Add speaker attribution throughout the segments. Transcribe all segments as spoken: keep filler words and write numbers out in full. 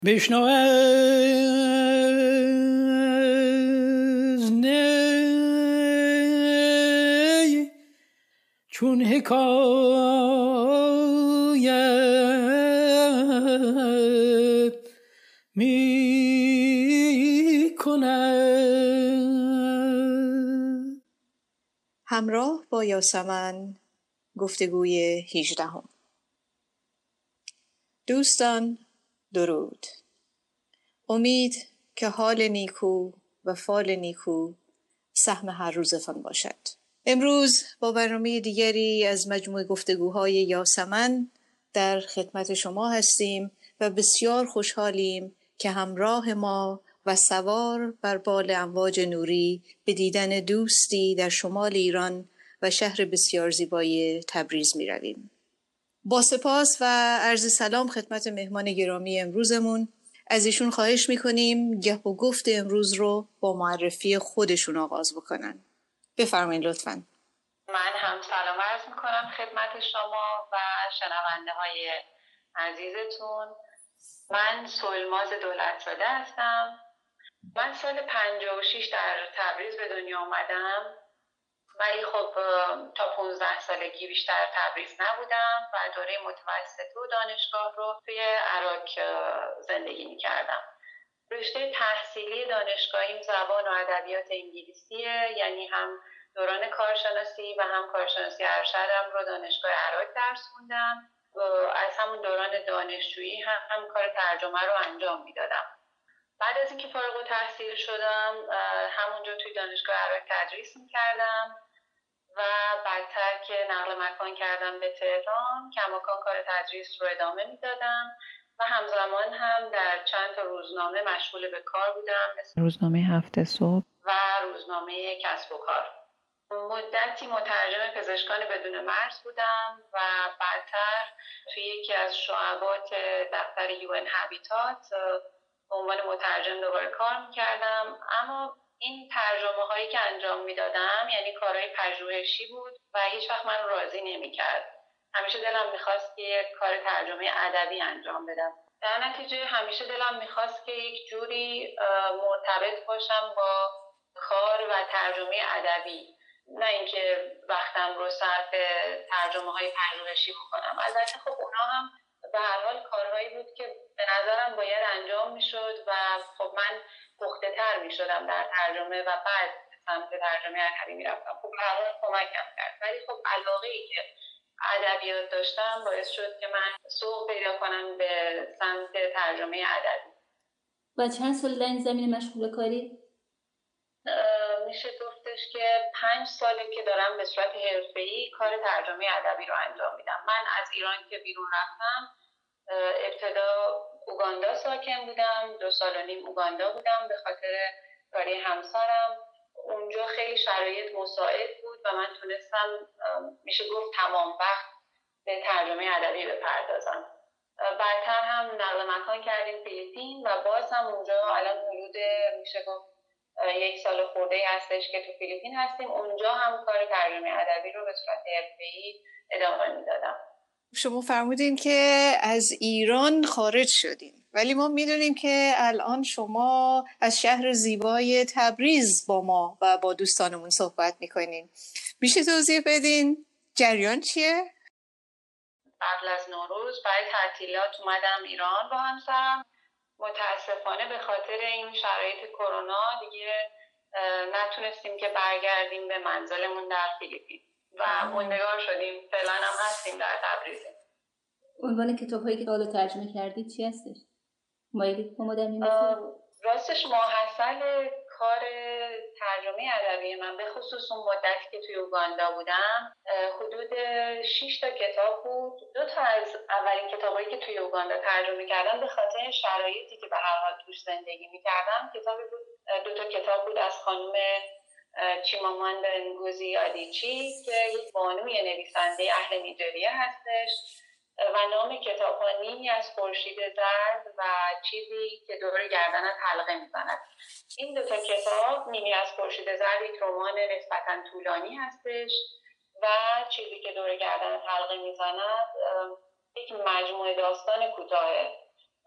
Speaker 1: بشنو از نی چون حکایت می کند.
Speaker 2: همراه با یاسمن گفتگوی هجدهم. دوستان درود. امید که حال نیکو و فال نیکو سهم هر روزتان باشد. امروز با برنامه دیگری از مجموع گفتگوهای یاسمن در خدمت شما هستیم و بسیار خوشحالیم که همراه ما و سوار بر بال امواج نوری به دیدن دوستی در شمال ایران و شهر بسیار زیبای تبریز می رویم. با سپاس و عرض سلام خدمت مهمان گرامی امروزمون، از ایشون خواهش میکنیم گپ و گفت امروز رو با معرفی خودشون آغاز بکنن. بفرمایید لطفاً.
Speaker 3: من هم سلام عرض میکنم خدمت شما و شنونده های عزیزتون. من سلماز دولتزاده هستم. من سال پنجاه و شش در تبریز به دنیا آمدم، ولی خب تا پانزده سالگی بیشتر تبریز نبودم و دوره متوسطه و دانشگاه رو توی عراق زندگی میکردم. رشته تحصیلی دانشگاهیم زبان و ادبیات انگلیسیه، یعنی هم دوران کارشناسی و هم کارشناسی ارشدم رو دانشگاه عراق درس خوندم. از همون دوران دانشجویی هم, هم کار ترجمه رو انجام میدادم. بعد از اینکه فارغ التحصیل شدم همونجا توی دانشگاه عراق تدریس میکردم و بعدتر که نقل مکان کردم به تهران کماکان کار تدریس رو ادامه میدادم و همزمان هم در چند تا روزنامه مشغول به کار بودم، مثل
Speaker 2: روزنامه هفته صبح
Speaker 3: و روزنامه کسب و کار. مدتی مترجم پزشکان بدون مرز بودم و بعدتر توی یکی از شعبات دفتر یو ان هابیتات به عنوان مترجم دوباره کار میکردم. اما این ترجمه هایی که انجام میدادم یعنی کارهای پژوهشی بود و هیچ وقت من راضی نمیکرد. همیشه دلم میخواست که یک کار ترجمه ادبی انجام بدم. در نتیجه همیشه دلم میخواست که یک جوری مرتبط باشم با کار و ترجمه ادبی، نه اینکه وقتم رو صرف ترجمه های پژوهشی بکنم. البته خب اونا هم به هر حال کارهایی بود که به نظرم باید انجام میشد و خب من پخته تر میشدم در ترجمه و بعد سمت ترجمه ادبی میرفتم. خب به هر حال کمکم کرد، ولی خب علاقه‌ای که ادبیات داشتم باعث شد که من سوق پیدا کنم به سمت ترجمه ادبی.
Speaker 4: و چند سال در این زمینه مشغول کاری؟
Speaker 3: میشه گفتش که پنج ساله که دارم به صورت حرفه‌ای کار ترجمه ادبی رو انجام میدم. من از ایران که بیرون رفتم ابتدا اوگاندا ساکن بودم، دو سال و نیم اوگاندا بودم به خاطر کاری همسرم. اونجا خیلی شرایط مساعد بود و من تونستم میشه گفت تمام وقت به ترجمه ادبی بپردازم. بعدتر هم نقل مکان کردیم فیلیپین و باز هم اونجا الان حدود میشه گفت یک سال خورده‌ای هستش که تو فیلیپین هستیم. اونجا هم کار ترجمه ادبی رو به صورت حرفه‌ای ادامه میدادم.
Speaker 2: شما فرمودین که از ایران خارج شدین، ولی ما میدونیم که الان شما از شهر زیبای تبریز با ما و با دوستانمون صحبت میکنین. میشه توضیح بدین جریان چیه؟
Speaker 3: قبل از نوروز برای تعطیلات اومدم ایران با همسرم. متاسفانه به خاطر این شرایط کرونا دیگه نتونستیم که برگردیم به منزلمون در فیلیپین و موندگار شدیم. فعلا هم هستیم در تبریز.
Speaker 4: عنوان کتاب‌هایی که حالا ترجمه کردید چی هستش؟ مایلی با ما در می‌مونه؟
Speaker 3: راستش ماحصل کار ترجمه ادبی من به خصوص اون مدتی که توی اوگاندا بودم حدود شش تا کتاب بود. دو تا از اولین کتابایی که توی اوگاندا ترجمه کردم به خاطر شرایطی که به هر حال توش زندگی می‌کردم کتابی بود، دو تا کتاب بود از خانم چیماماندا نگوزی آدیچی که یک بانوی نویسنده اهل نیجریه هستش و نام کتاب ها نیمی از خورشید زرد و چیزی که دور گردنت حلقه میزند. این دو تا کتاب، نیمی از خورشید زرد یک رمان نسبتاً طولانی هستش و چیزی که دور گردنت حلقه میزند یک مجموعه داستان کوتاه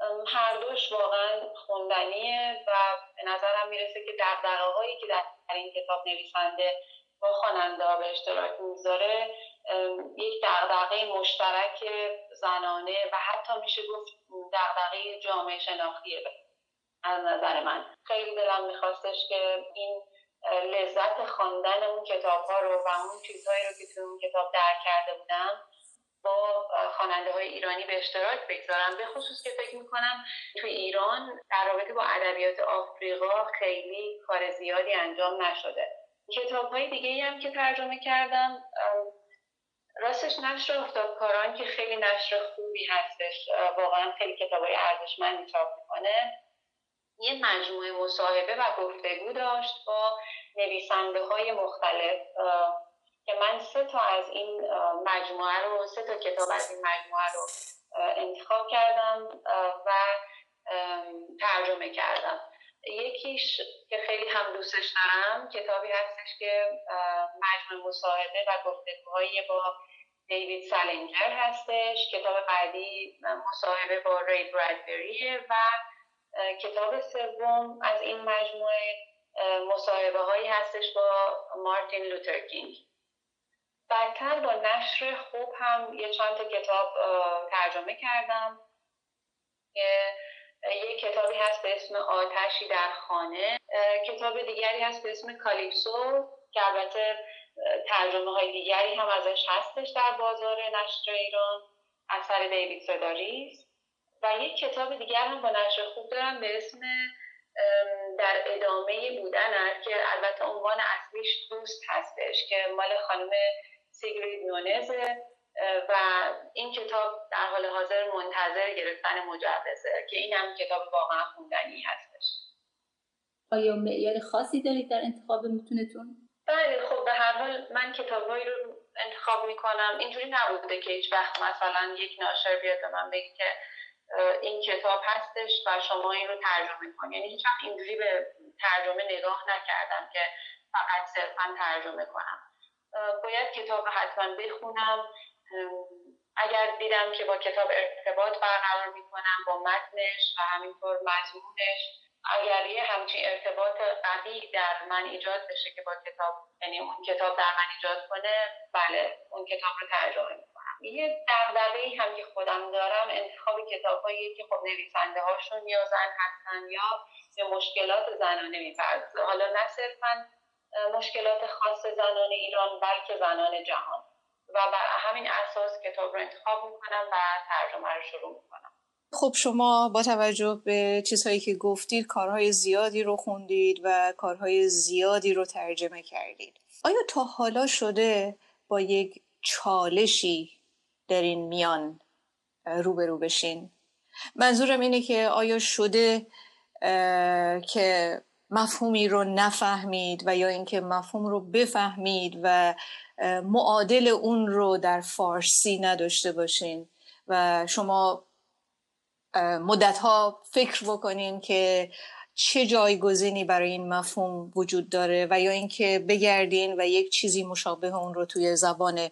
Speaker 3: هر دوش واقعا خوندنیه و به نظرم میرسه که دغدغه‌هایی که در این کتاب نویسنده با خواننده ها به اشتراک میذاره یک دغدغه مشترک زنانه و حتی میشه گفت دغدغه جامعه شناختیه. از نظر من خیلی دلم میخواستش که این لذت خواندن اون کتاب ها رو و اون چیزهایی رو که توی اون کتاب درک کرده بودم با خواننده های ایرانی به اشتراک بگذارم، به خصوص که فکر میکنم توی ایران در رابطه با ادبیات آفریقا خیلی کار زیادی انجام نشده. کتاب های دیگه ای هم که ترجمه کردم، راستش نشر آفتابکاران که خیلی نشر خوبی هستش، واقعا خیلی کتاب های ارزشمندی چاپ میکنه، یه مجموعه مصاحبه و گفتگو داشت با نویسنده های مختلف که من سه تا از این مجموعه رو سه تا کتاب از این مجموعه رو انتخاب کردم و ترجمه کردم. یکیش که خیلی هم دوستش دارم کتابی هستش که مجموعه مصاحبه و گفتگوهای با دیوید سالینجر هستش. کتاب بعدی مصاحبه با ری برادبریه و کتاب سوم از این مجموعه مصاحبه هایی هستش با مارتین لوترکینگ. بعدتر با نشر خوب هم یه چند تا کتاب ترجمه کردم که یک کتابی هست به اسم آتشی در خانه، کتاب دیگری هست به اسم کالیپسو که البته ترجمه های دیگری هم ازش هستش در بازار نشر ایران، اثر دیوید سداریس. و یک کتاب دیگر هم با نشر خوب دارم به اسم در ادامه بودن که البته عنوان اصلیش دوست هستش که مال خانم سیگرید نونزه و این کتاب در حال حاضر منتظر گرفتن مجوزه که این هم کتاب واقعا خوندنی هستش.
Speaker 4: آیا معیار خاصی دارید در انتخاب متونتون؟
Speaker 3: بله، خب به هر حال من کتابایی رو انتخاب میکنم، اینجوری نبوده که هیچ وقت مثلا یک ناشر بیاد به من بگه که این کتاب هستش و شما این رو ترجمه کنید. یعنی هیچ وقت اینجوری به ترجمه نگاه نکردم که فقط صرفا ترجمه کنم. باید کتاب حتما بخونم، اگر دیدم که با کتاب ارتباط برقرار میکنم با متنش و همینطور مضمونش، اگر یه همچین ارتباط قوی در من ایجاد بشه که با کتاب، یعنی اون کتاب در من ایجاد کنه، بله اون کتاب رو ترجمه میکنم. یه دغدغه‌ای هم که خودم دارم انتخاب کتاب‌هایی که خب نویسنده هاشون یا زن هستن یا به مشکلات زنانه میپردازه، حالا نه صرفاً مشکلات خاص زنان ایران بلکه زنان جهان، و بر همین اساس کتاب رو انتخاب میکنم و ترجمه رو شروع میکنم.
Speaker 2: خب شما با توجه به چیزهایی که گفتید کارهای زیادی رو خوندید و کارهای زیادی رو ترجمه کردید. آیا تا حالا شده با یک چالشی در این میان روبرو بشین؟ منظورم اینه که آیا شده که مفهومی رو نفهمید و یا اینکه مفهوم رو بفهمید و معادل اون رو در فارسی نداشته باشین و شما مدتها فکر بکنین که چه جایگزینی برای این مفهوم وجود داره و یا اینکه بگردین و یک چیزی مشابه اون رو توی زبان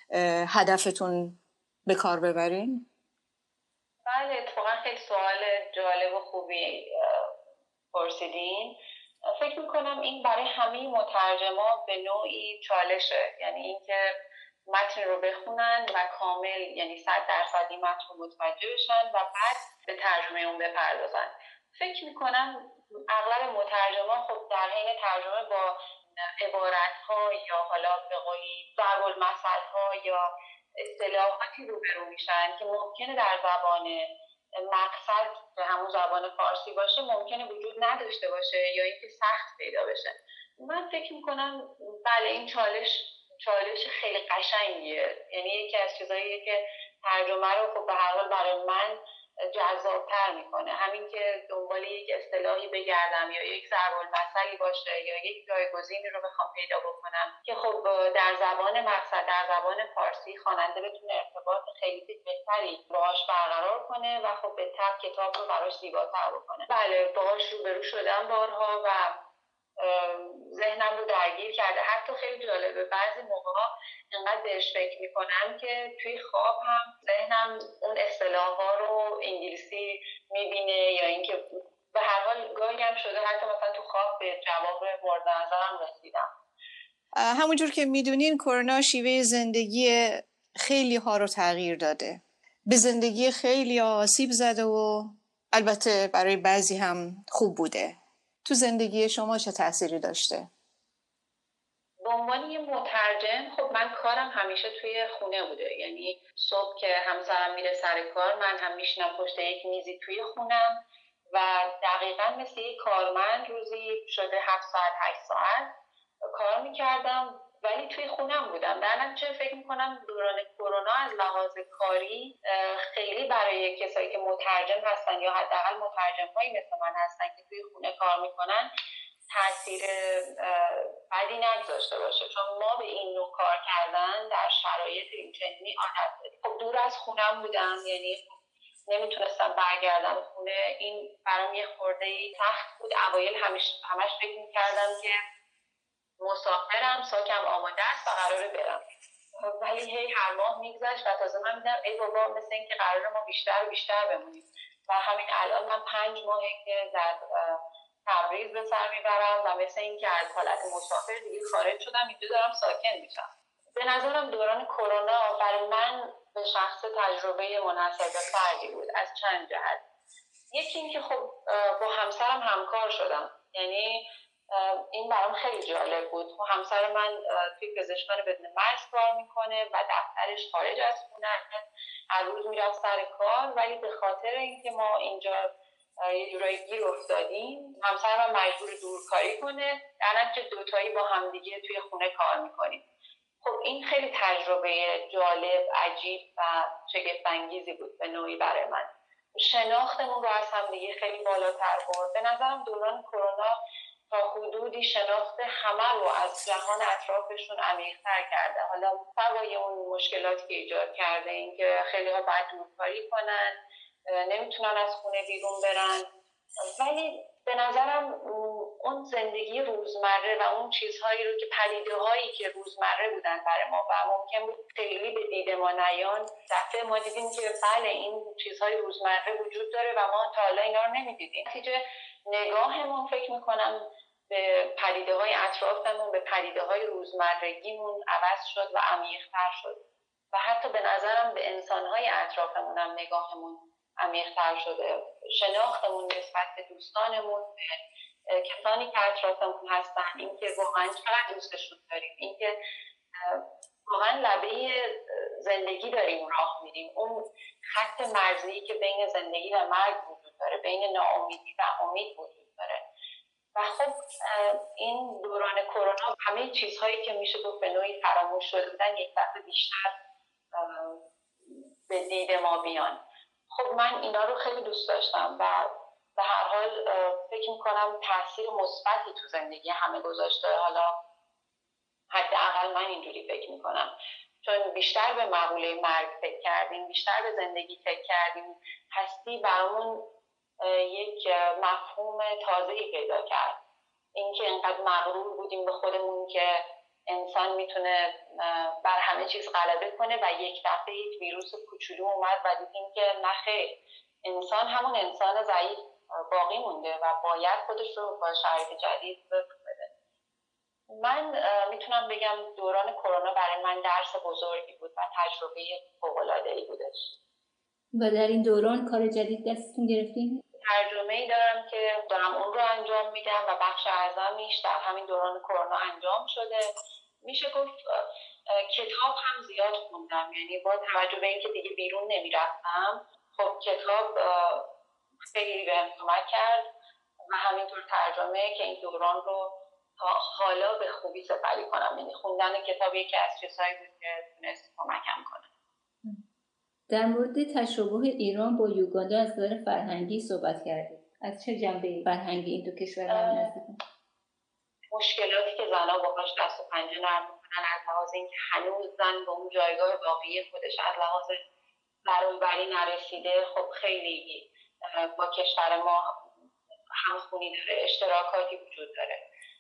Speaker 2: هدفتون به کار ببرین؟
Speaker 3: بله، اتفاقا خیلی سوال جالب و خوبی پرسیدین. فکر میکنم این برای همه مترجما به نوعی چالشه، یعنی اینکه متن رو بخونن و کامل، یعنی صد درصد این متن رو متوجه بشن و بعد به ترجمه اون بپردازن. فکر میکنم اغلب مترجما خب در حین ترجمه با عبارت‌ها یا حالا به قولی ضرب المثل‌ها یا اصطلاحاتی روبرو میشن که ممکنه در زبان مقصد که همون زبان فارسی باشه ممکنه وجود نداشته باشه یا اینکه سخت پیدا بشه. من فکر میکنم بله این چالش چالش خیلی قشنگیه، یعنی یکی از چیزاییه که ترجمه رو خب به هر حال برای من جذاب‌تر میکنه. همین که دنبال یک اصطلاحی بگردم یا یک ضرب المثلی باشه یا یک جایگزینی رو بخوام پیدا بکنم که خب در زبان مقصد، در زبان فارسی خواننده بتونه ارتباط خیلی بهتری باهاش برقرار کنه و خب به تبع کتاب رو براش زیباتر بکنه. بله باهاش روبرو شدم بارها و ذهنم رو درگیر کرده. حتی خیلی جالبه بعضی موقع‌ها اینقدر بهش فکر میکنم که توی خواب هم ذهنم اون اصطلاح‌ها رو انگلیسی میبینه، یا اینکه به هر حال گاهی هم شده حتی مثلا تو خواب به جواب مورد نظرم رسیدم.
Speaker 2: همونجور که میدونین کرونا شیوه زندگی خیلی ها رو تغییر داده، به زندگی خیلی آسیب زده و البته برای بعضی هم خوب بوده. تو زندگی شما چه تأثیری داشته؟
Speaker 3: به عنوان یه مترجم خب من کارم همیشه توی خونه بوده، یعنی صبح که همسرم میره سر کار من هم میشینم پشت یک میزی توی خونم و دقیقاً مثل یک کارمند روزی شده هفت ساعت هشت ساعت کار میکردم، ولی توی خونم بودم. در نتیجه فکر میکنم دوران کرونا از لحاظ کاری خیلی برای کسایی که مترجم هستن یا حداقل مترجم هایی مثل من هستن که توی خونه کار میکنن تاثیر بدی نگذاشته باشه، چون ما به این نوع کار کردن در شرایط اینچنینی عادت داریم. خب دور از خونم بودم، یعنی نمیتونستم برگردم خونه. این برام یه خورده سخت بود. اوایل همش همش فکر میکردم که مسافرم، ساکم آماده است و قراره برم، ولی هی هر ماه میگذشت و تازه من میدم ای بابا مثل این که قراره ما بیشتر و بیشتر بمونیم. و همین الان من پنج ماهه که در تبریز به سر میبرم و مثل این که از حالت مسافر دیگه خارج شدم، اینجا دارم ساکن میشم. به نظرم دوران کرونا برای من به شخص تجربه منحصر به فردی بود از چند جهت. یکی این که خب با همسرم همکار شدم، یعنی این برام خیلی جالب بود. همسر من توی پزشکان بدون مرز کار میکنه و دفترش خارج از خونه، هر روز میرفت سر کار، ولی به خاطر اینکه ما اینجا یه جورایی گیر افتادیم همسر من مجبور دورکاری کنه، در نتیجه دوتایی با همدیگه توی خونه کار میکنیم. خب این خیلی تجربه جالب، عجیب و شگفت‌انگیزی بود به نوعی برای من. شناختمون رو از همدیگه خیلی بالاتر برد. به نظرم دوران کرونا تا حدودی شناخت همه رو از جهان اطرافشون عمیق‌تر کرده. حالا سوای اون مشکلاتی که ایجاد کرده، این که خیلی ها باید دورکاری کنن، نمیتونن از خونه بیرون برن، ولی به نظرم اون زندگی روزمره و اون چیزهایی رو که پدیده هایی که روزمره بودن برای ما و ممکن بود خیلی به دید ما نیان، دفعه ما دیدیم که بله این چیزهای روزمره وجود داره و ما تا حالا اینا رو نمیدیدیم. نتیجه نگاهمون فکر میکنم به پدیده های اطرافمون، به پدیده های روزمرگیمون عوض شد و عمیق‌تر شد و حتی به نظرم به انسان های اطرافمون هم نگاهمون عمیق‌تر شده. شناختمون نسبت به دوستانمون، به کسانی که اطرافمون هستن، اینکه واقعا چقدر دوستشون داریم، اینکه واقعا لبه زندگی داریم راه میریم، اون خط مرزی که بین زندگی و مرگ وجود داره، بین ناامیدی و امید وجود داره. و خب این دوران کرونا همه چیزهایی که میشه گفت به نوعی فراموش شده بودن یک دفعه بیشتر به دید ما بیان. خب من اینا رو خیلی دوست داشتم و به هر حال فکر میکنم تاثیر مثبتی تو زندگی همه گذاشته. حالا حداقل من اینجوری فکر میکنم، چون بیشتر به مقوله مرگ فکر کردیم، بیشتر به زندگی فکر کردیم. هستی برامون یک مفهوم تازه‌ای پیدا کرد. اینکه اینقدر مغرور بودیم به خودمون که انسان میتونه بر همه چیز غلبه کنه و یک دفعه یک ویروس کوچولو اومد و دیدیم که نه خیر، انسان همون انسان ضعیف باقی مونده و باید خودش رو با شرایط جدید وفق بده. من میتونم بگم دوران کرونا برای من درس بزرگی بود و تجربه فوق‌العاده‌ای بودش.
Speaker 4: و در این دوران کار جدید دستتون گرفتین؟
Speaker 3: ترجمه‌ای دارم که دارم اون رو انجام میدم و بخش اعظمیش در همین دوران کرونا انجام شده. میشه گفت کتاب هم زیاد خوندم، یعنی با توجه به اینکه دیگه بیرون نمیرفتم، خب کتاب خیلی بهم کمک کرد و همینطور ترجمه که این دوران رو تا حالا به خوبی سپری کنم. یعنی خوندن کتاب یکی از چیزهایی بود که تونست کمکم کنه.
Speaker 4: در مورد تشابه ایران با یوگاندا از نظر فرهنگی صحبت کردید. از چه جنبه فرهنگی این دو کشور هم نزدیکن؟
Speaker 3: مشکلاتی که زنها باهاش دست و پنجه نرم میکنن، از لحاظ اینکه هنوز زن به اون جایگاه واقعی خودش از لحاظ برابری نرسیده، خب خیلی با کشور ما همخونی داره، اشتراکاتی وجود داره.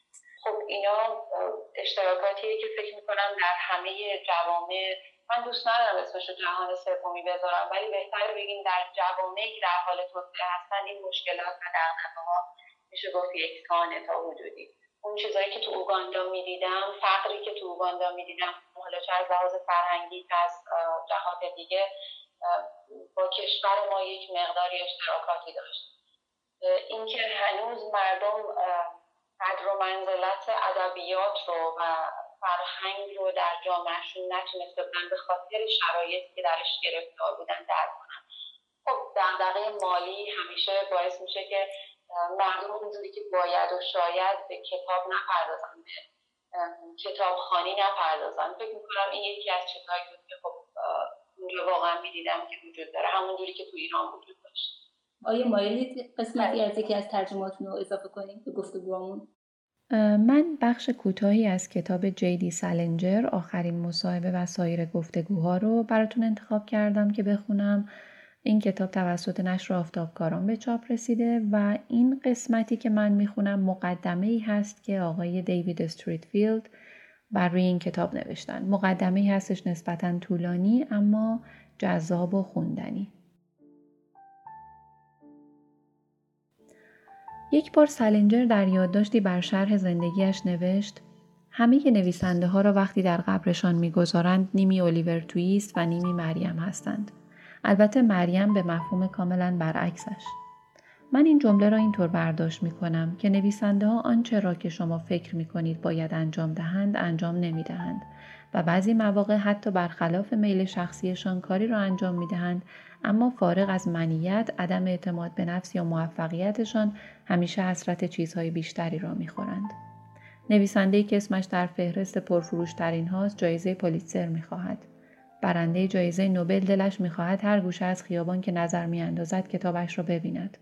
Speaker 3: خب اینا اشتراکاتیه که فکر میکنم در همه جوامع، من دوست ندارم اسمش رو جهان سومی بذارم، ولی بهتره بگیم در جوامعی که در حال توسعه هستن این مشکلات و دغدغه‌ها میشه گفت یکسانه تا حدودی. اون چیزایی که تو اوگاندا میدیدم، فقری که تو اوگاندا میدیدم، حالا چه از لحاظ فرهنگی که از جهات دیگه، با کشور ما یک مقداری اشتراکاتی داشت. اینکه هنوز مردم قدر و منزلت ادبیات رو و فرهنگ رو در جامعهشون نتونسته بودن به خاطر شرایطی که درش گرفتار بودن درک کنن. خب دغدغه مالی همیشه باعث میشه که مردم اونجوری که باید و شاید به کتاب نپردازن، به کتابخوانی نپردازن. فکر میکنم این یکی از چیزهایی بود که خب اونجا واقعا میدیدم که وجود داره، همون جوری که تو ایران وجود داشت.
Speaker 4: آیا مایلید قسمتی از یکی از ترجماتون رو اضافه کنیم به گفتگوامون؟
Speaker 5: من بخش کوتاهی از کتاب جی دی سالینجر، آخرین مصاحبه و سایر گفتگوها رو براتون انتخاب کردم که بخونم. این کتاب توسط نشر آفتابکاران به چاپ رسیده و این قسمتی که من میخونم مقدمه‌ای هست که آقای دیوید استریتفیلد بر روی این کتاب نوشتن. مقدمه‌ای هستش نسبتاً طولانی اما جذاب و خوندنی. یک بار سالینجر در یادداشتی بر شرح زندگیش نوشت: همه نویسنده ها را وقتی در قبرشان میگذارند نیمی الیور تویست و نیمی مریم هستند. البته مریم به مفهوم کاملا برعکسش. من این جمله را اینطور برداشت می کنم که نویسنده ها آنچه را که شما فکر می کنید باید انجام دهند انجام نمی دهند و بعضی مواقع حتی برخلاف میل شخصیشان کاری را انجام می دهند، اما فارغ از منیت، عدم اعتماد به نفس یا موفقیتشان همیشه حسرت چیزهای بیشتری را می خورند. نویسنده‌ای که اسمش در فهرست پرفروش‌ترین هاست جایزه پولیتزر می خواهد. برنده جایزه نوبل دلش می خواهد هر گوشه از خیابان که نظر می اندازد کتابش را ببیند.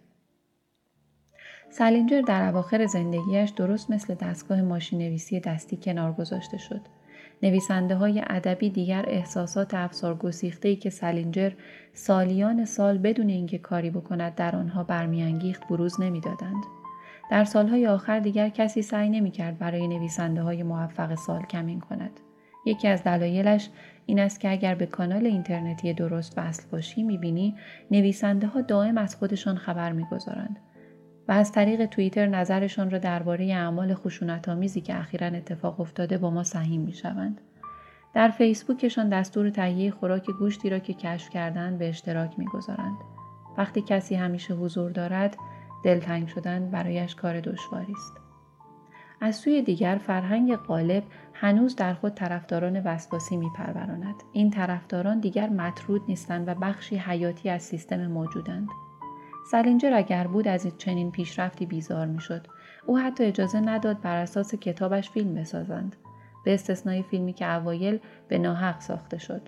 Speaker 5: سالینجر در اواخر زندگیش درست مثل دستگاه ماشین‌نویسی دستی کنار گذاشته شد. نویسنده های ادبی دیگر احساسات افسارگسیخته‌ای که سالینجر سالیان سال بدون اینکه کاری بکند در آنها برمیانگیخت بروز نمی‌دادند. در سالهای آخر دیگر کسی سعی نمی‌کرد برای نویسنده های موفق سال کمین کند. یکی از دلایلش این است که اگر به کانال اینترنتی درست وصل باشی می‌بینی نویسنده ها دائم از خودشان خبر می‌گذارند و از طریق توییتر نظرشان را درباره اعمال خشونت‌آمیزی که اخیراً اتفاق افتاده با ما سهیم می‌شوند. در فیسبوکشان دستور تهیه خوراک گوشتی را که کشف کردند به اشتراک می‌گذارند. وقتی کسی همیشه حضور دارد، دلتنگ شدن برایش کار دشواری است. از سوی دیگر فرهنگ غالب هنوز در خود طرفداران وسواسی می‌پروراند. این طرفداران دیگر مطرود نیستند و بخشی حیاتی از سیستم موجودند. سالینجر اگر بود از این چنین پیشرفتی بیزار میشد. او حتی اجازه نداد بر اساس کتابش فیلم بسازند، به استثنای فیلمی که اوایل به ناحق ساخته شد.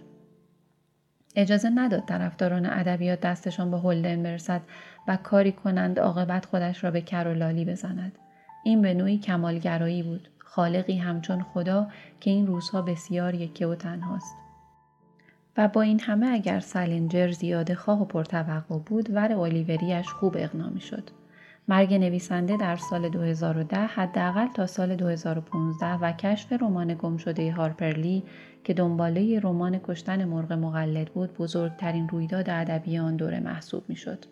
Speaker 5: اجازه نداد طرفداران ادبیات دستشان به هولدن برسد و کاری کنند عاقبت خودش را به کر و لالی بزند. این به نوعی کمالگرایی بود، خالقی همچون خدا که این روزها بسیار یکه و تنهاست. و با این همه اگر سالینجر زیاده خواه و پرتوقع بود، ور اولیوریش خوب اقنا می‌شد. مرگ نویسنده در سال دو هزار و ده حداقل تا سال دو هزار و پانزده و کشف رمان گمشده هارپر لی که دنباله رمان کشتن مرغ مقلد بود بزرگترین رویداد ادبی آن دوره محسوب می‌شد.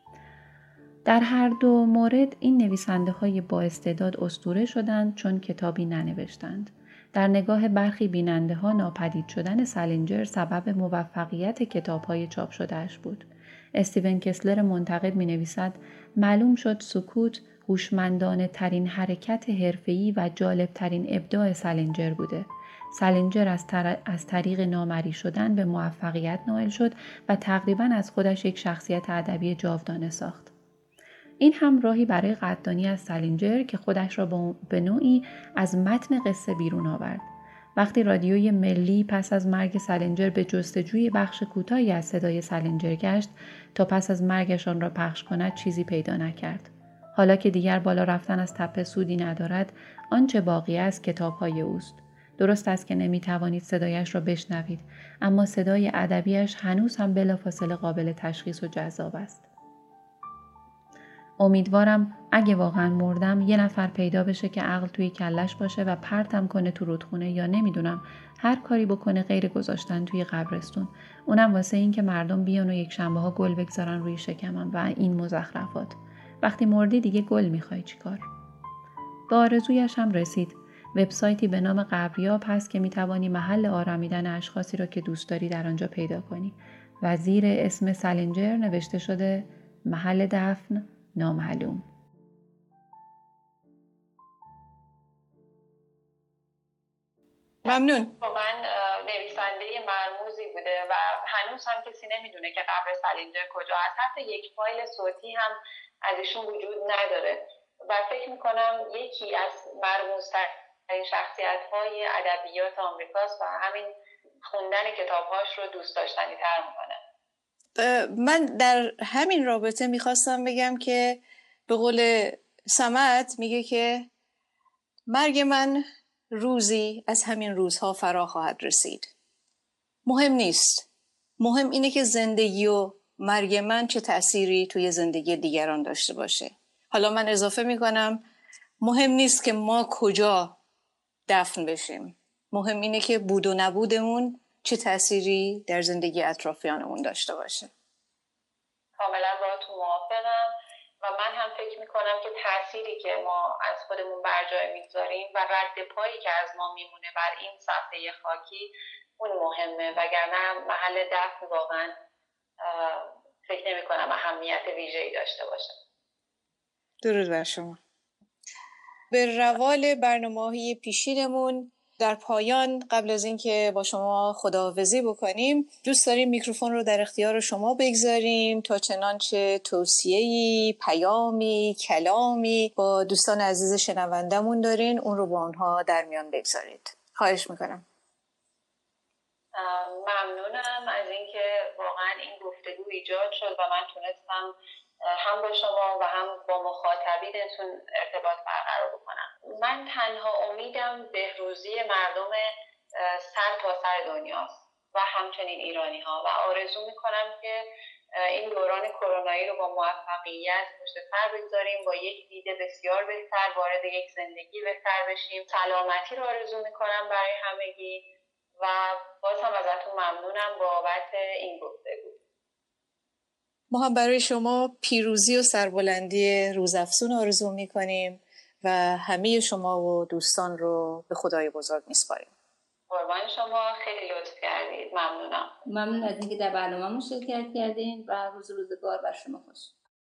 Speaker 5: در هر دو مورد این نویسنده‌های با استعداد اسطوره شدند چون کتابی ننوشتند. در نگاه برخی بیننده‌ها ناپدید شدن سالینجر سبب موفقیت کتاب‌های چاپ شده‌اش بود. استیون کسلر منتقد می‌نویسد: معلوم شد سکوت هوشمندانه ترین حرکت حرفه‌ای و جالب ترین ابداع سالینجر بوده. سالینجر از, تر... از طریق نامری شدن به موفقیت نائل شد و تقریباً از خودش یک شخصیت ادبی جاودانه ساخت. این هم راهی برای قدردانی از سالینجر که خودش را به نوعی از متن قصه بیرون آورد. وقتی رادیوی ملی پس از مرگ سالینجر به جستجوی بخش کوتاهی از صدای سالینجر گشت تا پس از مرگشان را پخش کند چیزی پیدا نکرد. حالا که دیگر بالا رفتن از تپه سودی ندارد، آنچه باقی است کتاب‌های اوست. درست است که نمی‌توانید صدایش را بشنوید، اما صدای ادبیش هنوز هم بلافاصله قابل تشخیص و جذاب است. امیدوارم اگه واقعا مردم یه نفر پیدا بشه که عقل توی کلش باشه و پرتم کنه تو رودخونه یا نمیدونم هر کاری بکنه غیر گذاشتن توی قبرستون. اونم واسه این که مردم بیان و یک شنبه ها گل بگذارن روی شکمم و این مزخرفات. وقتی مردی دیگه گل میخوای چیکار؟ به آرزویش هم رسید. وبسایتی به نام قبریاب هست که میتوانی محل آرامیدن اشخاصی را که دوست داری در آنجا پیدا کنی و زیر اسم سالینجر نوشته شده محل دفن نامعلوم.
Speaker 2: ممنون.
Speaker 3: واقعا نویسنده مرموزی بوده و هنوز هم کسی نمیدونه که قبر سالینجر کجا هست. حتی یک فایل صوتی هم از ایشون وجود نداره و فکر میکنم یکی از مرموزترین شخصیت‌های ادبیات آمریکاست و همین خوندن کتاب‌هاش رو دوست داشتنی تر میکنه.
Speaker 2: من در همین رابطه میخواستم بگم که به قول سمت میگه که مرگ من روزی از همین روزها فرا خواهد رسید. مهم نیست. مهم اینه که زندگی و مرگ من چه تأثیری توی زندگی دیگران داشته باشه. حالا من اضافه میکنم مهم نیست که ما کجا دفن بشیم. مهم اینه که بود و نبودمون چه تأثیری در زندگی اطرافیانمون داشته باشه.
Speaker 3: کاملا باهاتون موافقم و من هم فکر میکنم که تأثیری که ما از خودمون بر جای میگذاریم و رد پایی که از ما میمونه بر این صفحه خاکی اون مهمه، وگرنه محل دفن واقعا فکر نمی کنم اهمیت ویژه‌ای داشته باشه.
Speaker 2: درود بر شما. به روال برنامه‌های پیشینمون در پایان قبل از اینکه با شما خداحافظی بکنیم دوست داریم میکروفون رو در اختیار شما بگذاریم تا چنانچه توصیه‌ای، پیامی، کلامی با دوستان عزیز شنوندمون دارین اون رو با اونها در میان بگذارید. خواهش میکنم.
Speaker 3: ممنونم از اینکه واقعا این گفتگو ایجاد شد و من تونستم هم با شما و هم با مخاطبینتون ارتباط برقرار بکنم. من تنها امیدم بهروزی مردم سر تا سر دنیاست و همچنین ایرانی ها و آرزو میکنم که این دوران کرونایی رو با موفقیت پشت سر بگذاریم، با یک دید بسیار بهتر وارد یک زندگی بهتر بشیم. سلامتی رو آرزو میکنم برای همگی و باز هم ازتون ممنونم بابت این گفتگو.
Speaker 2: ما هم برای شما پیروزی و سربلندی روزافزون آرزو میکنیم و همه شما و دوستان رو به خدای بزرگ میسپاریم.
Speaker 3: قربان شما، خیلی لطف کردید. ممنونم.
Speaker 4: ممنون از اینکه در برنامه‌مون شرکت کردین و روز روزگار بر شما خوش.